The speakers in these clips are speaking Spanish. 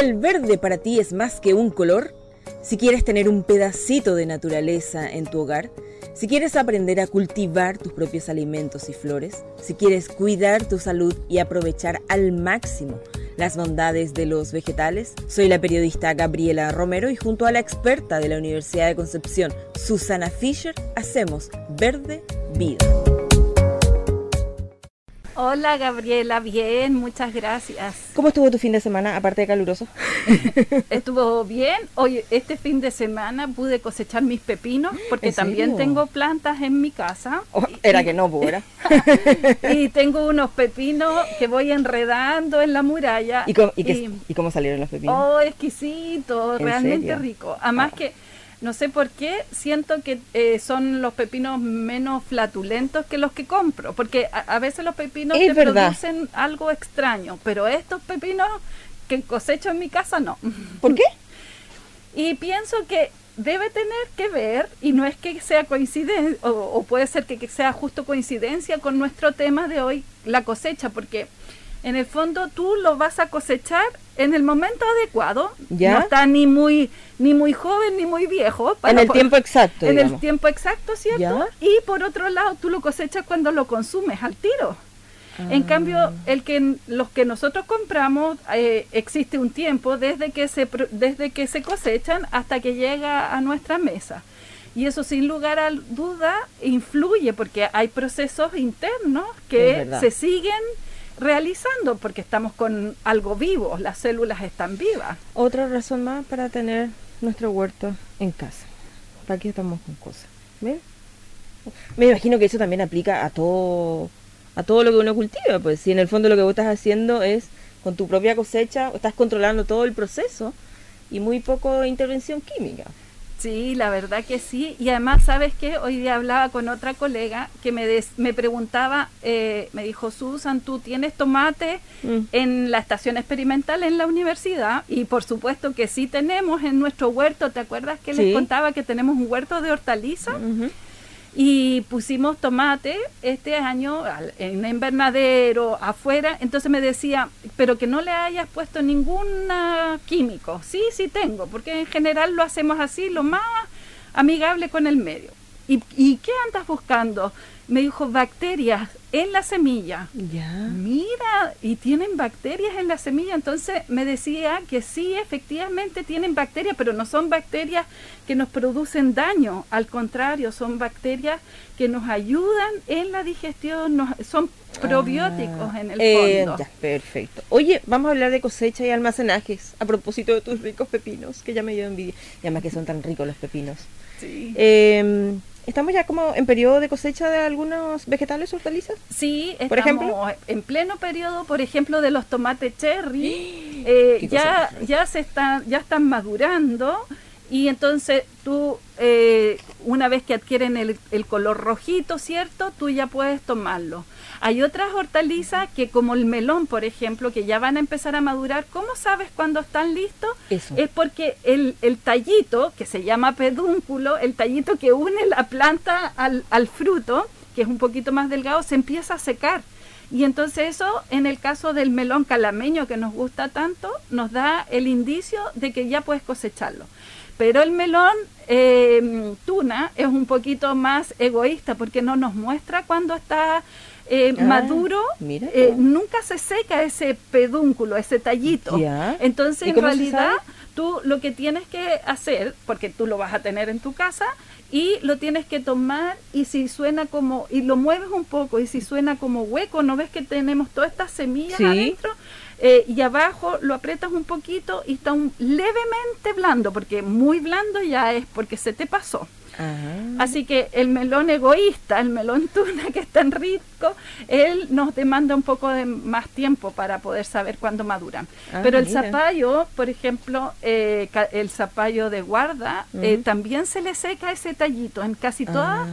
el verde para ti es más que un color, si quieres tener un pedacito de naturaleza en tu hogar, si quieres aprender a cultivar tus propios alimentos y flores, si quieres cuidar tu salud y aprovechar al máximo las bondades de los vegetales, soy la periodista Gabriela Romero y junto a la experta de la Universidad de Concepción, Susana Fischer, hacemos Verde Vida. Hola Gabriela, bien, muchas gracias. ¿Cómo estuvo tu fin de semana, aparte de caluroso? Estuvo bien. Hoy, este fin de semana pude cosechar mis pepinos, porque también tengo plantas en mi casa. Oh, era que no, ¿era? Y tengo unos pepinos que voy enredando en la muralla. ¿Y cómo salieron los pepinos? Oh, exquisito, realmente serio? rico. Además que, no sé por qué, siento que son los pepinos menos flatulentos que los que compro, porque a veces los pepinos te producen algo extraño, pero estos pepinos que cosecho en mi casa no. ¿Por qué? Y pienso que debe tener que ver, y no es que sea coincidencia, o puede ser que sea justo coincidencia con nuestro tema de hoy, la cosecha, porque en el fondo tú lo vas a cosechar en el momento adecuado. ¿Ya? No está ni muy joven ni muy viejo. En el tiempo exacto, digamos. En el tiempo exacto, ¿cierto? ¿Ya? Y por otro lado, tú lo cosechas cuando lo consumes al tiro. En cambio, los que nosotros compramos, existe un tiempo desde que se cosechan hasta que llega a nuestra mesa. Y eso sin lugar a duda influye, porque hay procesos internos que se siguen realizando, porque estamos con algo vivo, las células están vivas. Otra razón más para tener nuestro huerto en casa. ¿Para qué estamos con cosas? ¿Ven? Me imagino que eso también aplica a todo lo que uno cultiva, pues si en el fondo lo que vos estás haciendo es con tu propia cosecha, estás controlando todo el proceso y muy poco intervención química. Sí, la verdad que sí. Y además, ¿sabes qué? Hoy día hablaba con otra colega que me preguntaba, me dijo, Susan, ¿tú tienes tomate en la estación experimental en la universidad? Y por supuesto que sí tenemos en nuestro huerto. ¿Te acuerdas que les contaba que tenemos un huerto de hortalizas? Y pusimos tomate este año en invernadero, afuera. Entonces me decía, pero que no le hayas puesto ningún químico. Sí tengo, porque en general lo hacemos así, lo más amigable con el medio. ¿Y qué andas buscando? Me dijo, bacterias en la semilla. Ya. Mira, y tienen bacterias en la semilla. Entonces me decía que sí, efectivamente tienen bacterias, pero no son bacterias que nos producen daño. Al contrario, son bacterias que nos ayudan en la digestión, son probióticos en el fondo. Ya, perfecto. Oye, vamos a hablar de cosecha y almacenajes, a propósito de tus ricos pepinos, que ya me dio envidia. Y además que son tan ricos los pepinos. Sí. ¿Estamos ya como en periodo de cosecha de algunos vegetales o hortalizas? Sí, ¿por ejemplo? En pleno periodo, por ejemplo, de los tomates cherry. Ya están madurando, y entonces tú, una vez que adquieren el color rojito, ¿cierto? Tú ya puedes tomarlo. Hay otras hortalizas que, como el melón, por ejemplo, que ya van a empezar a madurar. ¿Cómo sabes cuándo están listos? Eso. Es porque el tallito, que se llama pedúnculo, el tallito que une la planta al fruto, que es un poquito más delgado, se empieza a secar. Y entonces eso, en el caso del melón calameño, que nos gusta tanto, nos da el indicio de que ya puedes cosecharlo. Pero el melón tuna es un poquito más egoísta, porque no nos muestra cuando está maduro. Nunca se seca ese pedúnculo, ese tallito. Ya. Entonces, en realidad, tú lo que tienes que hacer, porque tú lo vas a tener en tu casa, y lo tienes que tomar, y si suena como, y lo mueves un poco, y si suena como hueco, ¿no ves que tenemos todas estas semillas adentro? Y abajo lo aprietas un poquito y está levemente blando, porque muy blando ya es porque se te pasó. Así que el melón egoísta, el melón tuna, que es tan rico, él nos demanda un poco de más tiempo para poder saber cuándo maduran. Pero el zapallo, por ejemplo, el zapallo de guarda, también se le seca ese tallito en casi todas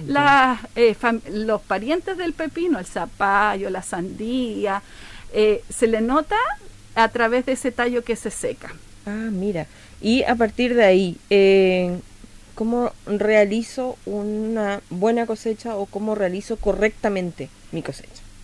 los parientes del pepino, el zapallo, la sandía, se le nota a través de ese tallo que se seca. Mira, y a partir de ahí, ¿cómo realizo una buena cosecha o cómo realizo correctamente mi cosecha?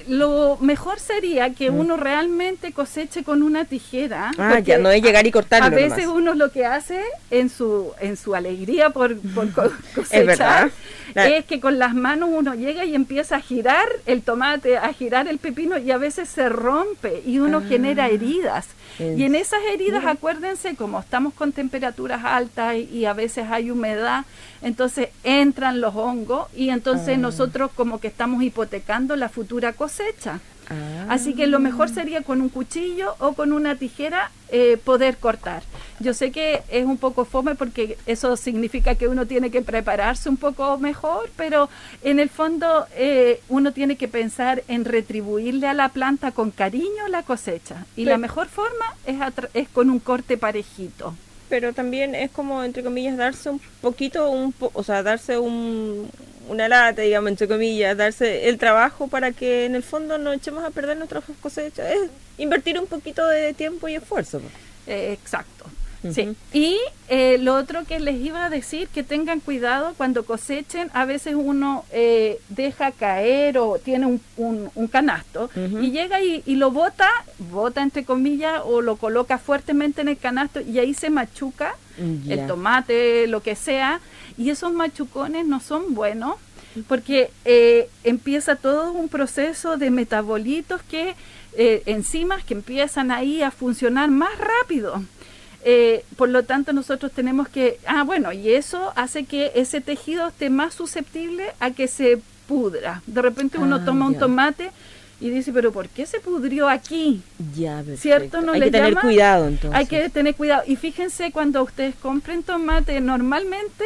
lo mejor sería que uno realmente coseche con una tijera. Ya no es llegar y cortarlo. A veces uno lo que hace en su alegría por cosechar es que con las manos uno llega y empieza a girar el tomate, a girar el pepino, y a veces se rompe y uno genera heridas. Y en esas heridas, acuérdense, como estamos con temperaturas altas y a veces hay humedad, entonces entran los hongos y entonces nosotros como que estamos hipotecando la futura cosecha. Así que lo mejor sería con un cuchillo o con una tijera poder cortar. Yo sé que es un poco fome porque eso significa que uno tiene que prepararse un poco mejor, pero en el fondo uno tiene que pensar en retribuirle a la planta con cariño la cosecha. Y la mejor forma es con un corte parejito. Pero también es como, entre comillas, darse un poquito, o sea, darse una lata, digamos, entre comillas, darse el trabajo para que en el fondo no echemos a perder nuestras cosechas. Es invertir un poquito de tiempo y esfuerzo. Exacto. Sí. Y lo otro que les iba a decir, que tengan cuidado cuando cosechen. A veces uno deja caer o tiene un canasto y llega y lo bota entre comillas, o lo coloca fuertemente en el canasto y ahí se machuca el tomate, lo que sea, y esos machucones no son buenos porque empieza todo un proceso de metabolitos enzimas que empiezan ahí a funcionar más rápido. Por lo tanto nosotros tenemos que, y eso hace que ese tejido esté más susceptible a que se pudra. De repente uno toma un tomate y dice, pero ¿por qué se pudrió aquí? Ya, perfecto. ¿Cierto? ¿No hay le que tener llama? Cuidado entonces. Hay que tener cuidado. Y fíjense, cuando ustedes compren tomate, normalmente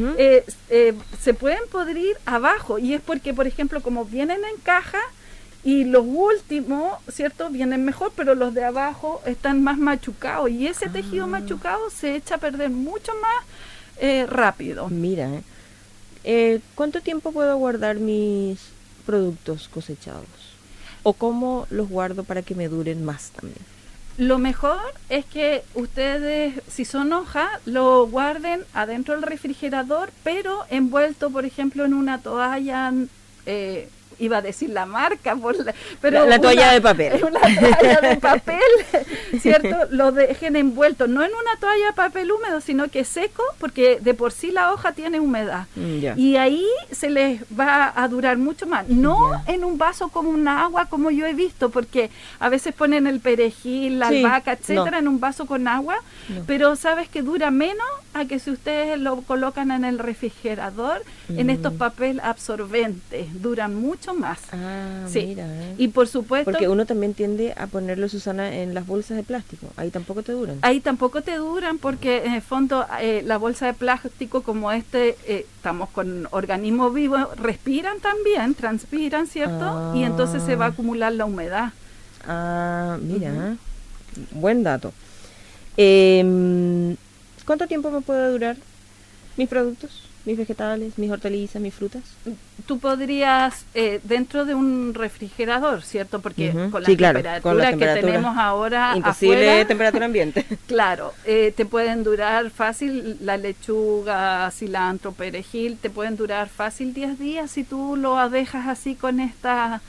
se pueden pudrir abajo, y es porque, por ejemplo, como vienen en caja, y los últimos, ¿cierto?, vienen mejor, pero los de abajo están más machucados, y ese tejido machucado se echa a perder mucho más rápido. Mira, ¿cuánto tiempo puedo guardar mis productos cosechados? ¿O cómo los guardo para que me duren más también? Lo mejor es que ustedes, si son hojas, lo guarden adentro del refrigerador, pero envuelto, por ejemplo, en una toalla, iba a decir la marca, pero la toalla de papel. Una toalla de papel, ¿cierto? Lo dejen envuelto, no en una toalla de papel húmedo, sino que seco, porque de por sí la hoja tiene humedad. Y ahí se les va a durar mucho más. No en un vaso con una agua, como yo he visto, porque a veces ponen el perejil, la albahaca, etcétera, en un vaso con agua, pero sabes que dura menos a que si ustedes lo colocan en el refrigerador, en estos papel absorbentes, duran mucho más. Mira. Y por supuesto, porque uno también tiende a ponerlo, Susana, en las bolsas de plástico. Ahí tampoco te duran. Ahí tampoco te duran porque en el fondo la bolsa de plástico como estamos con organismos vivos, respiran también, transpiran, ¿cierto? Y entonces se va a acumular la humedad. Mira, buen dato. ¿Cuánto tiempo me puede durar mis productos? Mis vegetales, mis hortalizas, mis frutas. Tú podrías, dentro de un refrigerador, ¿cierto? Porque con la temperatura que tenemos ahora imposible afuera, temperatura ambiente. Claro, te pueden durar fácil la lechuga, cilantro, perejil, te pueden durar fácil 10 días si tú lo dejas así con esta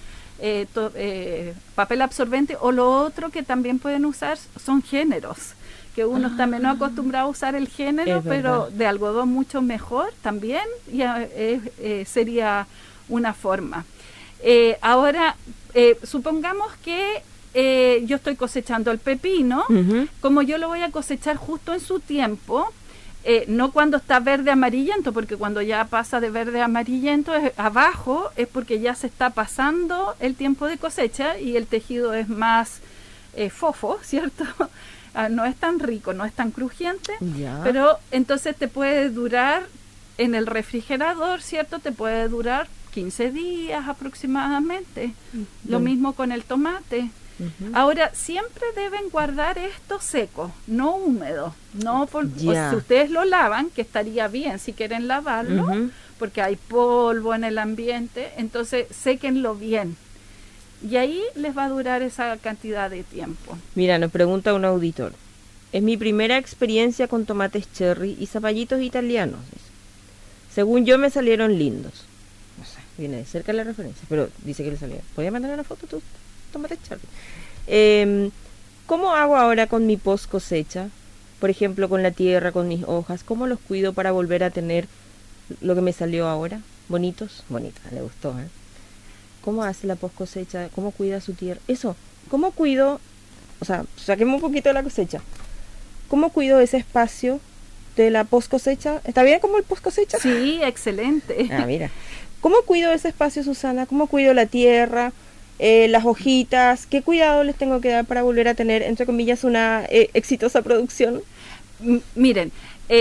papel absorbente. O lo otro que también pueden usar son géneros, que uno está menos acostumbrado a usar el género, pero de algodón mucho mejor también, y sería una forma. Ahora, supongamos que yo estoy cosechando el pepino, como yo lo voy a cosechar justo en su tiempo, no cuando está verde amarillento, porque cuando ya pasa de verde amarillento abajo es porque ya se está pasando el tiempo de cosecha y el tejido es más fofo, ¿cierto? No es tan rico, no es tan crujiente, pero entonces te puede durar en el refrigerador, ¿cierto? Te puede durar 15 días aproximadamente. Lo mismo con el tomate. Ahora, siempre deben guardar esto seco, no húmedo. No si ustedes lo lavan, que estaría bien si quieren lavarlo, porque hay polvo en el ambiente, entonces séquenlo bien. Y ahí les va a durar esa cantidad de tiempo. Mira, nos pregunta un auditor. Es mi primera experiencia con tomates cherry y zapallitos italianos. Según yo me salieron lindos. No sé, viene de cerca la referencia, pero dice que le salió. ¿Podría mandar una foto tú? Tomate Charlie. ¿Cómo hago ahora con mi post cosecha? Por ejemplo, con la tierra, con mis hojas. ¿Cómo los cuido para volver a tener lo que me salió ahora? ¿Bonitos? Bonita, le gustó, ¿eh? ¿Cómo hace la post cosecha? ¿Cómo cuida su tierra? Eso, ¿cómo cuido? O sea, saquemos un poquito de la cosecha. ¿Cómo cuido ese espacio de la post cosecha? ¿Está bien como el post cosecha? Sí, excelente. Ah, mira. ¿Cómo cuido ese espacio, Susana? ¿Cómo cuido la tierra, las hojitas? ¿Qué cuidado les tengo que dar para volver a tener, entre comillas, una exitosa producción? Miren,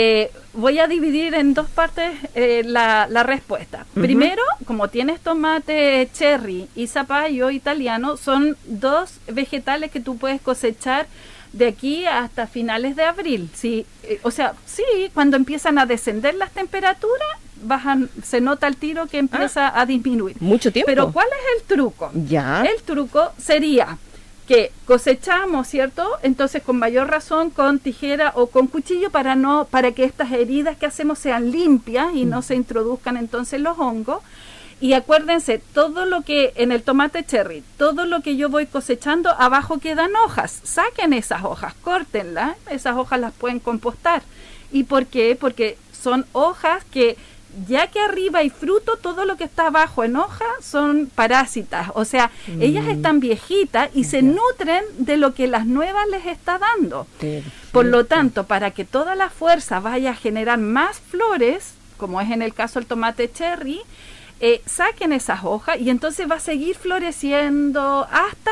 voy a dividir en dos partes la respuesta. Primero, como tienes tomate cherry y zapallo italiano, son dos vegetales que tú puedes cosechar de aquí hasta finales de abril. Sí, o sea, sí, cuando empiezan a descender las temperaturas, se nota el tiro que empieza a disminuir. Mucho tiempo. Pero ¿cuál es el truco? Ya. El truco sería que cosechamos, ¿cierto? Entonces con mayor razón con tijera o con cuchillo para que estas heridas que hacemos sean limpias y no se introduzcan entonces los hongos. Y acuérdense, todo lo que en el tomate cherry, todo lo que yo voy cosechando, abajo quedan hojas. Saquen esas hojas, córtenlas, esas hojas las pueden compostar. ¿Y por qué? Porque son hojas que, ya que arriba hay fruto, todo lo que está abajo en hoja son parásitas. O sea, ellas están viejitas y se nutren de lo que las nuevas les está dando. Por lo tanto, para que toda la fuerza vaya a generar más flores, como es en el caso del tomate cherry, saquen esas hojas y entonces va a seguir floreciendo hasta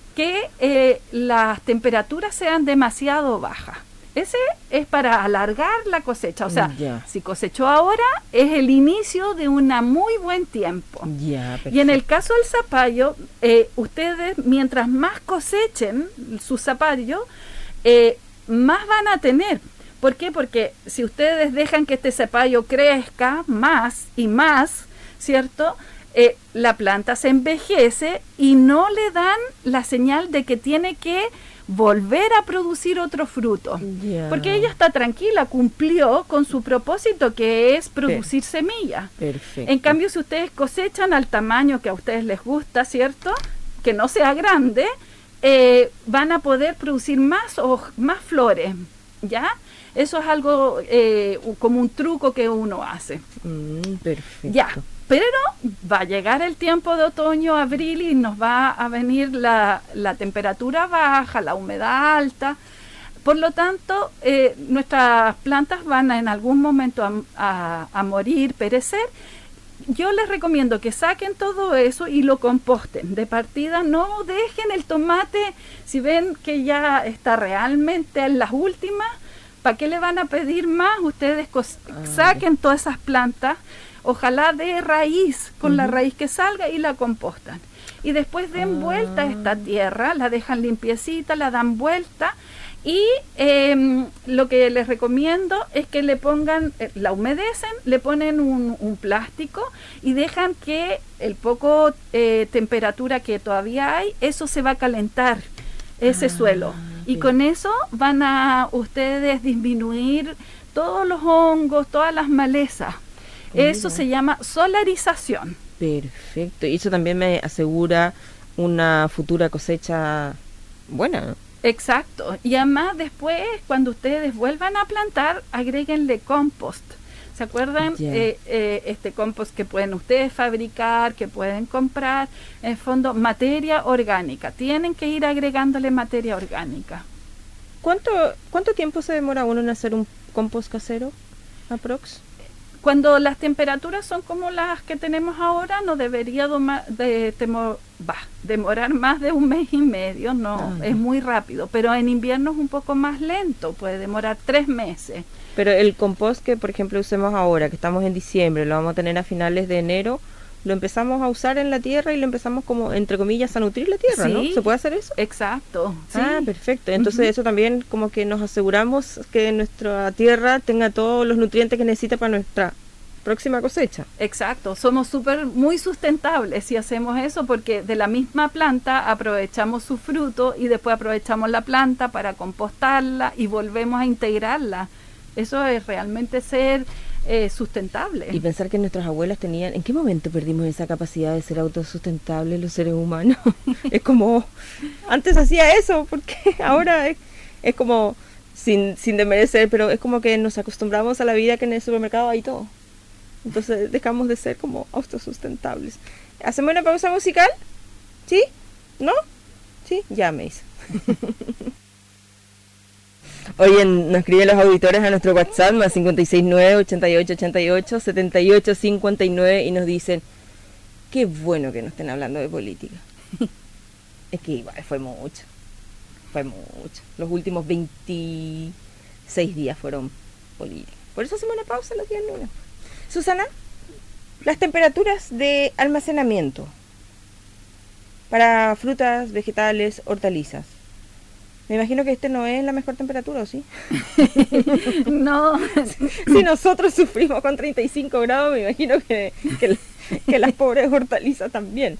que las temperaturas sean demasiado bajas. Ese es para alargar la cosecha. O sea, si cosechó ahora, es el inicio de un muy buen tiempo. Y en el caso del zapallo, ustedes, mientras más cosechen su zapallo, más van a tener. ¿Por qué? Porque si ustedes dejan que este zapallo crezca más y más, ¿cierto? La planta se envejece y no le dan la señal de que tiene que volver a producir otro fruto. Porque ella está tranquila, cumplió con su propósito, que es producir semilla. Perfecto. En cambio, si ustedes cosechan al tamaño que a ustedes les gusta, ¿cierto? Que no sea grande, van a poder producir más flores, ¿ya? Eso es algo como un truco que uno hace. Perfecto. Ya. Pero va a llegar el tiempo de otoño, abril, y nos va a venir la temperatura baja, la humedad alta. Por lo tanto, nuestras plantas van en algún momento a morir, perecer. Yo les recomiendo que saquen todo eso y lo composten. De partida, no dejen el tomate, si ven que ya está realmente en las últimas, ¿para qué le van a pedir más? Ustedes saquen todas esas plantas, ojalá de raíz, con la raíz que salga, y la compostan. Y después den vuelta a esta tierra, la dejan limpiecita, la dan vuelta, y lo que les recomiendo es que le pongan, la humedecen, le ponen un plástico y dejan que el poco temperatura que todavía hay, eso se va a calentar, ese suelo. Y con eso van a ustedes disminuir todos los hongos, todas las malezas. Eso se llama solarización. Perfecto. Y eso también me asegura una futura cosecha buena, ¿no? Exacto. Y además después, cuando ustedes vuelvan a plantar, agréguenle compost. ¿Se acuerdan? Este compost que pueden ustedes fabricar, que pueden comprar, en el fondo, materia orgánica. Tienen que ir agregándole materia orgánica. ¿Cuánto tiempo se demora uno en hacer un compost casero, aprox? Cuando las temperaturas son como las que tenemos ahora, no debería demorar más de 1 mes y medio, es muy rápido, pero en invierno es un poco más lento, puede demorar 3 meses. Pero el compost que, por ejemplo, usemos ahora, que estamos en diciembre, lo vamos a tener a finales de enero, lo empezamos a usar en la tierra y lo empezamos como, entre comillas, a nutrir la tierra, ¿no? ¿Se puede hacer eso? Exacto. Sí. Perfecto. Entonces eso también como que nos aseguramos que nuestra tierra tenga todos los nutrientes que necesita para nuestra próxima cosecha. Exacto. Somos muy sustentables si hacemos eso, porque de la misma planta aprovechamos su fruto y después aprovechamos la planta para compostarla y volvemos a integrarla. Eso es realmente ser sustentable. Y pensar que nuestras abuelas tenían... ¿En qué momento perdimos esa capacidad de ser autosustentables los seres humanos? Es como... Antes hacía eso, porque ahora es como... Sin desmerecer, pero es como que nos acostumbramos a la vida que en el supermercado hay todo. Entonces dejamos de ser como autosustentables. ¿Hacemos una pausa musical? ¿Sí? ¿No? Sí, ya me hizo. Oye, nos escriben los auditores a nuestro WhatsApp, más 569-8888-7859, y nos dicen, qué bueno que no estén hablando de política. Es que igual fue mucho. Los últimos 26 días fueron políticos. Por eso hacemos una pausa los días lunes. Susana, las temperaturas de almacenamiento para frutas, vegetales, hortalizas. Me imagino que no es la mejor temperatura, ¿o sí? No. Si nosotros sufrimos con 35 grados, me imagino que las pobres hortalizas también.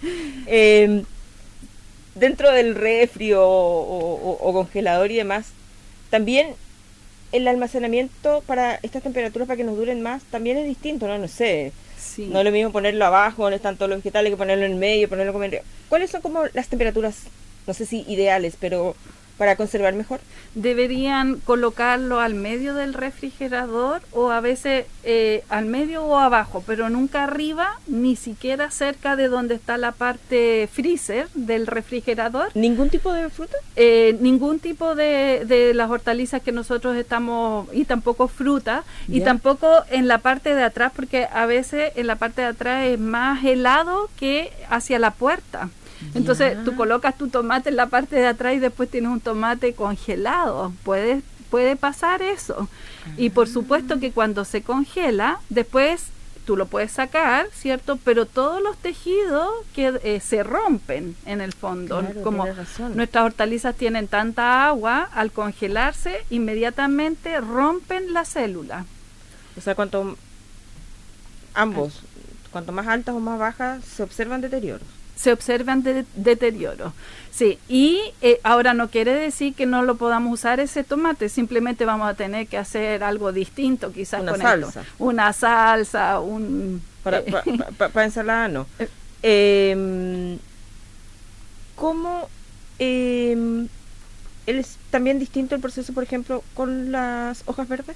Dentro del refri o congelador y demás, también el almacenamiento para estas temperaturas, para que nos duren más, también es distinto, ¿no? No sé. Sí. No es lo mismo ponerlo abajo, donde están todos los vegetales, que ponerlo en medio, ponerlo como en medio. ¿Cuáles son como las temperaturas, no sé si ideales, pero para conservar mejor? Deberían colocarlo al medio del refrigerador, o a veces al medio o abajo, pero nunca arriba, ni siquiera cerca de donde está la parte freezer del refrigerador. ¿Ningún tipo de fruta? Ningún tipo de las hortalizas que nosotros estamos, y tampoco fruta, y tampoco en la parte de atrás, porque a veces en la parte de atrás es más helado que hacia la puerta. Entonces tú colocas tu tomate en la parte de atrás y después tienes un tomate congelado. Puede pasar eso. Y por supuesto que cuando se congela, después tú lo puedes sacar, ¿cierto? Pero todos los tejidos que se rompen en el fondo. Claro, como nuestras hortalizas tienen tanta agua, al congelarse inmediatamente rompen la célula. O sea, cuanto más altas o más bajas, se observan deterioros. Se observan deterioro. Sí, y ahora no quiere decir que no lo podamos usar ese tomate, simplemente vamos a tener que hacer algo distinto, quizás una con salsa. esto. Una salsa, para ensalada no. ¿Cómo es también distinto el proceso, por ejemplo, con las hojas verdes?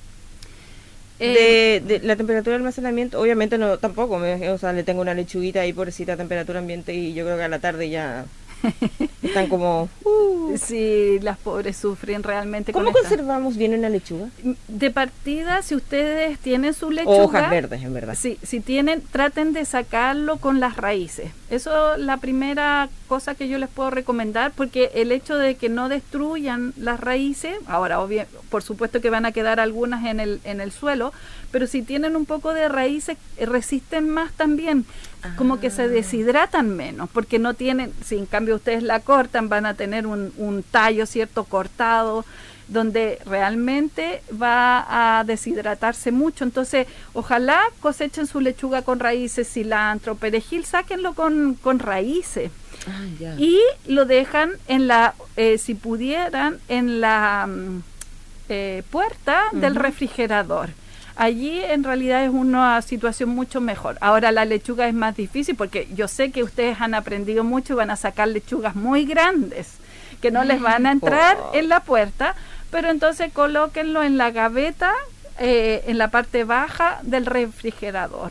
De la temperatura de almacenamiento, obviamente no, tampoco, le tengo una lechuguita ahí, pobrecita, a temperatura ambiente, y yo creo que a la tarde ya están como... Sí, las pobres sufren realmente. ¿Cómo conservamos bien una lechuga? De partida, si ustedes tienen su lechuga... Hojas verdes, en verdad. Sí, si tienen, traten de sacarlo con las raíces. Eso es la primera cosa que yo les puedo recomendar, porque el hecho de que no destruyan las raíces, ahora por supuesto que van a quedar algunas en el suelo, pero si tienen un poco de raíces, resisten más también, como que se deshidratan menos, porque no tienen, si en cambio ustedes la cortan, van a tener un tallo, ¿cierto?, cortado, donde realmente va a deshidratarse mucho. Entonces, ojalá cosechen su lechuga con raíces, cilantro, perejil, sáquenlo con raíces. Y lo dejan en si pudieran, en la puerta del refrigerador. Allí en realidad es una situación mucho mejor. Ahora la lechuga es más difícil, porque yo sé que ustedes han aprendido mucho y van a sacar lechugas muy grandes que no les van a entrar en la puerta, pero entonces colóquenlo en la gaveta, en la parte baja del refrigerador.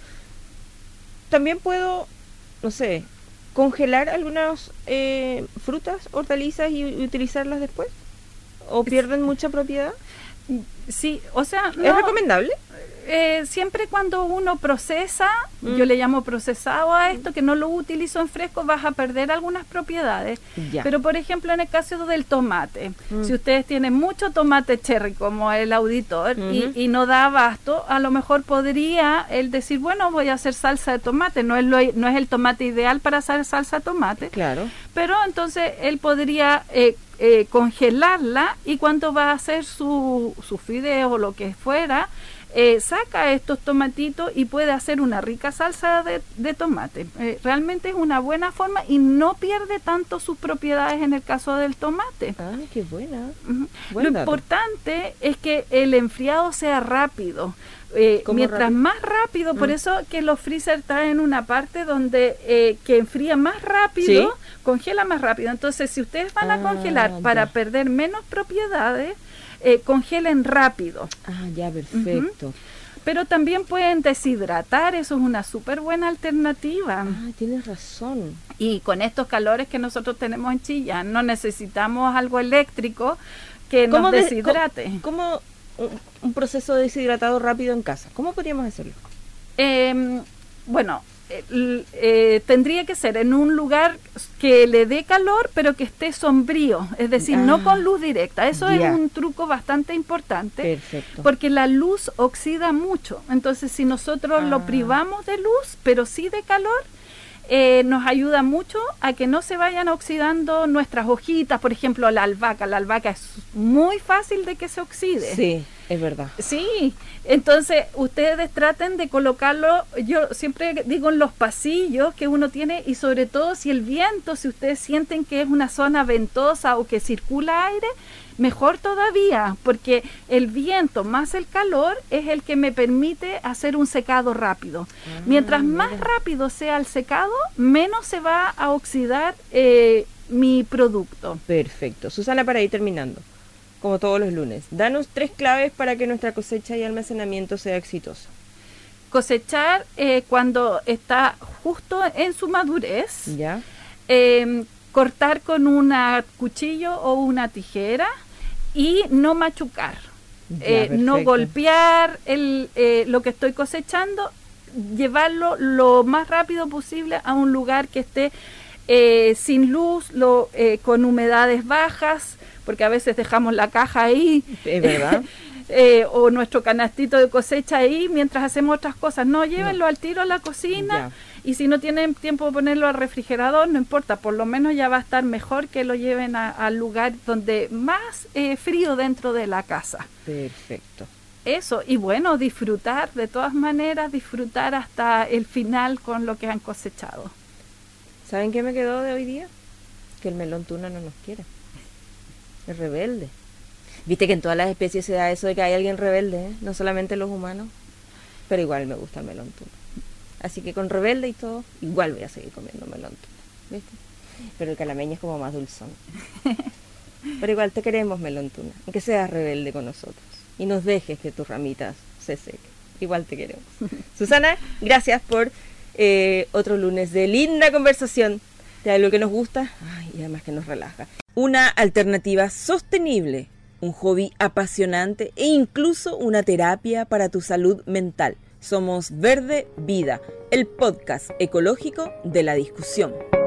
También puedo, no sé, congelar algunas frutas, hortalizas y utilizarlas después. ¿O pierden mucha propiedad? Sí, o sea... ¿Es recomendable? Siempre cuando uno procesa, yo le llamo procesado a esto, que no lo utilizo en fresco, vas a perder algunas propiedades. Pero por ejemplo, en el caso del tomate, si ustedes tienen mucho tomate cherry como el auditor y no da abasto, a lo mejor podría él decir, bueno, voy a hacer salsa de tomate. No es el tomate ideal para hacer salsa de tomate. Claro. Pero entonces él podría congelarla, y cuando va a hacer su fideo o lo que fuera, saca estos tomatitos y puede hacer una rica salsa de tomate. Realmente es una buena forma y no pierde tanto sus propiedades en el caso del tomate. Ah, qué buena. Lo importante es que el enfriado sea rápido. Mientras rápido? Más rápido, por eso que los freezer traen una parte donde que enfría más rápido, ¿sí? Congela más rápido. Entonces, si ustedes van a congelar para perder menos propiedades, congelen rápido. Ah, ya, perfecto. Pero también pueden deshidratar, eso es una súper buena alternativa. Ah, tienes razón. Y con estos calores que nosotros tenemos en Chillán, no necesitamos algo eléctrico que nos deshidrate. ¿Cómo un proceso deshidratado rápido en casa? ¿Cómo podríamos hacerlo? Bueno, tendría que ser en un lugar que le dé calor, pero que esté sombrío, es decir, no con luz directa. Eso es un truco bastante importante. Perfecto. Porque la luz oxida mucho. Entonces, si nosotros lo privamos de luz, pero sí de calor, nos ayuda mucho a que no se vayan oxidando nuestras hojitas. Por ejemplo, la albahaca. La albahaca es muy fácil de que se oxide. Sí, es verdad. Sí, entonces ustedes traten de colocarlo, yo siempre digo, en los pasillos que uno tiene, y sobre todo si el viento, si ustedes sienten que es una zona ventosa o que circula aire, mejor todavía, porque el viento más el calor es el que me permite hacer un secado rápido. Mientras más rápido sea el secado, menos se va a oxidar mi producto. Perfecto. Susana, para ir terminando, como todos los lunes, danos 3 claves para que nuestra cosecha y almacenamiento sea exitoso. Cosechar cuando está justo en su madurez. Ya. Cortar con un cuchillo o una tijera y no machucar, no golpear lo que estoy cosechando, llevarlo lo más rápido posible a un lugar que esté sin luz, con humedades bajas, porque a veces dejamos la caja ahí, es verdad. O nuestro canastito de cosecha ahí mientras hacemos otras cosas. No, llévenlo al tiro a la cocina. Y si no tienen tiempo de ponerlo al refrigerador, no importa, por lo menos ya va a estar mejor que lo lleven al lugar donde más frío dentro de la casa. Perfecto. Eso, y bueno, disfrutar, de todas maneras, disfrutar hasta el final con lo que han cosechado. ¿Saben qué me quedó de hoy día? Que el melón tuna no nos quiere. Es rebelde. Viste que en todas las especies se da eso de que hay alguien rebelde, ¿eh? No solamente los humanos, pero igual me gusta el melón tuna. Así que con rebelde y todo, igual voy a seguir comiendo melón tuna, ¿viste? Pero el calameño es como más dulzón. Pero igual te queremos, melón tuna, aunque seas rebelde con nosotros y nos dejes que tus ramitas se sequen. Igual te queremos. Susana, gracias por otro lunes de linda conversación de algo que nos gusta y además que nos relaja. Una alternativa sostenible, un hobby apasionante e incluso una terapia para tu salud mental. Somos Verde Vida, el podcast ecológico de La Discusión.